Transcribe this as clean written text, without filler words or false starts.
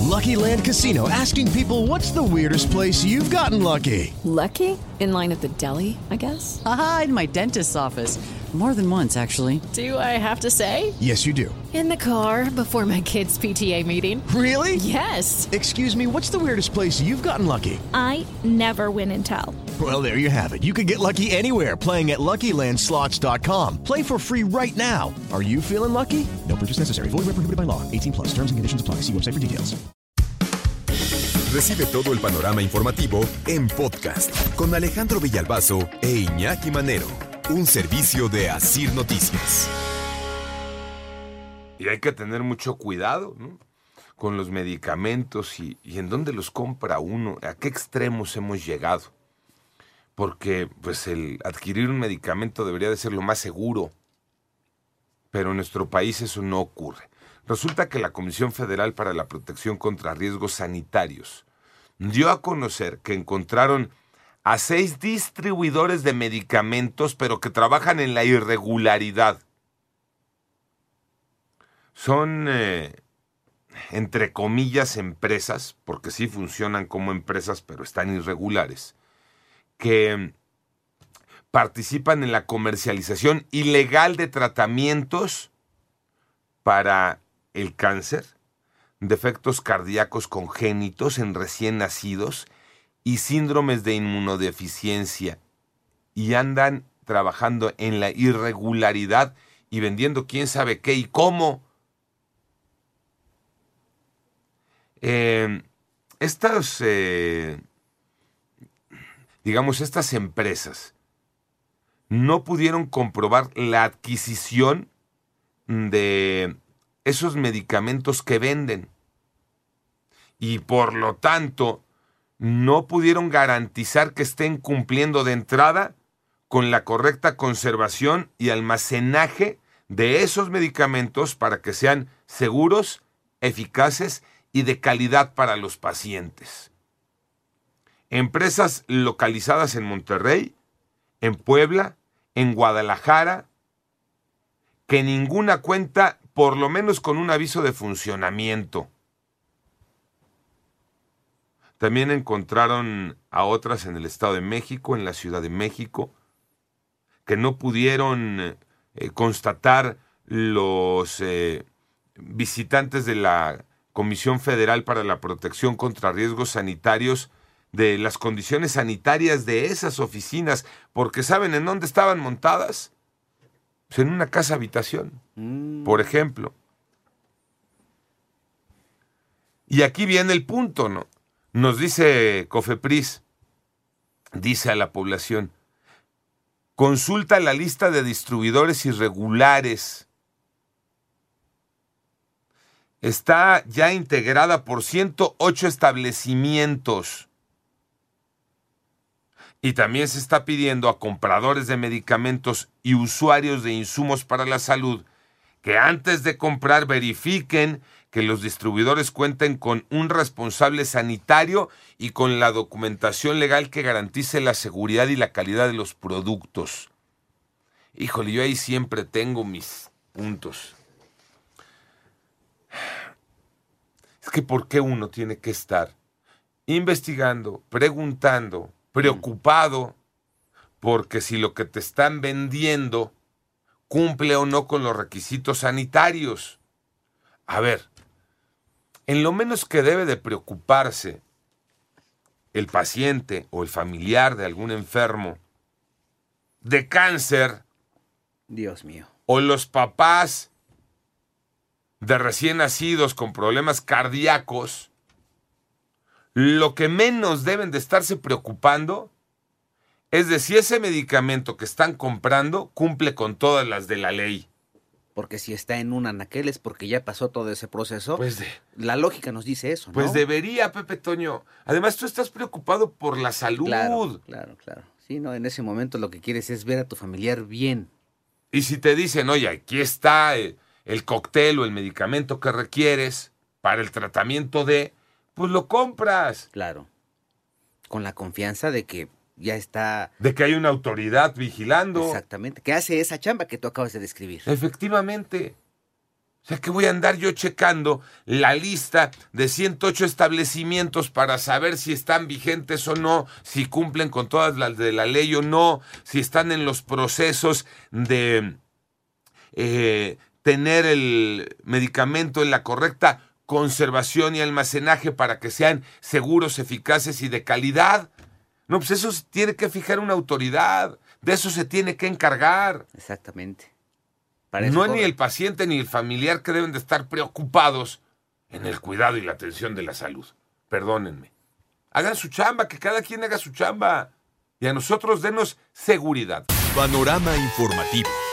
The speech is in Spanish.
Lucky Land Casino, asking people, what's the weirdest place you've gotten lucky? Lucky? In line at the deli, I guess? Aha, in my dentist's office. More than once, actually. Do I have to say? Yes, you do. In the car before my kids' PTA meeting. Really? Yes. Excuse me, what's the weirdest place you've gotten lucky? I never win and tell. Well, there you have it. You can get lucky anywhere, playing at LuckyLandSlots.com. Play for free right now. Are you feeling lucky? No purchase necessary. Void where prohibited by law. 18+. Terms and conditions apply. See website for details. Recibe todo el panorama informativo en podcast con Alejandro Villalbazo e Iñaki Manero. Un servicio de Asir Noticias. Y hay que tener mucho cuidado, ¿no?, con los medicamentos y en dónde los compra uno, a qué extremos hemos llegado. Porque pues el adquirir un medicamento debería de ser lo más seguro, pero en nuestro país eso no ocurre. Resulta que la Comisión Federal para la Protección contra Riesgos Sanitarios dio a conocer que encontraron a 6 distribuidores de medicamentos, pero que trabajan en la irregularidad. Son, entre comillas, empresas, porque sí funcionan como empresas, pero están irregulares, que participan en la comercialización ilegal de tratamientos para el cáncer, defectos cardíacos congénitos en recién nacidos y síndromes de inmunodeficiencia, y andan trabajando en la irregularidad y vendiendo quién sabe qué y cómo. Estas empresas no pudieron comprobar la adquisición de esos medicamentos que venden y por lo tanto no pudieron garantizar que estén cumpliendo de entrada con la correcta conservación y almacenaje de esos medicamentos para que sean seguros, eficaces y de calidad para los pacientes. Empresas localizadas en Monterrey, en Puebla, en Guadalajara, que ninguna cuenta por lo menos con un aviso de funcionamiento. También encontraron a otras en el Estado de México, en la Ciudad de México, que no pudieron constatar los visitantes de la Comisión Federal para la Protección contra Riesgos Sanitarios de las condiciones sanitarias de esas oficinas, porque ¿saben en dónde estaban montadas? Pues en una casa habitación, por ejemplo. Y aquí viene el punto, ¿no? Nos dice Cofepris, dice a la población, consulta la lista de distribuidores irregulares. Está ya integrada por 108 establecimientos. Y también se está pidiendo a compradores de medicamentos y usuarios de insumos para la salud que antes de comprar verifiquen que los distribuidores cuenten con un responsable sanitario y con la documentación legal que garantice la seguridad y la calidad de los productos. Híjole, yo ahí siempre tengo mis puntos. Es que ¿por qué uno tiene que estar investigando, preguntando, preocupado porque si lo que te están vendiendo cumple o no con los requisitos sanitarios? A ver, en lo menos que debe de preocuparse el paciente o el familiar de algún enfermo de cáncer, Dios mío, o los papás de recién nacidos con problemas cardíacos, lo que menos deben de estarse preocupando es de si ese medicamento que están comprando cumple con todas las de la ley. porque si está en un anaquel es porque ya pasó todo ese proceso. Pues la lógica nos dice eso, ¿no? Pues debería, Pepe Toño. Además, tú estás preocupado por la salud. Claro. Sí, no, en ese momento lo que quieres es ver a tu familiar bien. Y si te dicen, oye, aquí está el cóctel o el medicamento que requieres para el tratamiento de, pues lo compras. Claro. Con la confianza de que ya está... De que hay una autoridad vigilando. Exactamente. Que hace esa chamba que tú acabas de describir. Efectivamente. O sea, que voy a andar yo checando la lista de 108 establecimientos para saber si están vigentes o no, si cumplen con todas las de la ley o no, si están en los procesos de tener el medicamento en la correcta conservación y almacenaje para que sean seguros, eficaces y de calidad. No, pues eso tiene que fijar una autoridad, de eso se tiene que encargar. Exactamente. No es ni el paciente ni el familiar que deben de estar preocupados en el cuidado y la atención de la salud. Perdónenme. Hagan su chamba, que cada quien haga su chamba. Y a nosotros denos seguridad. Panorama informativo.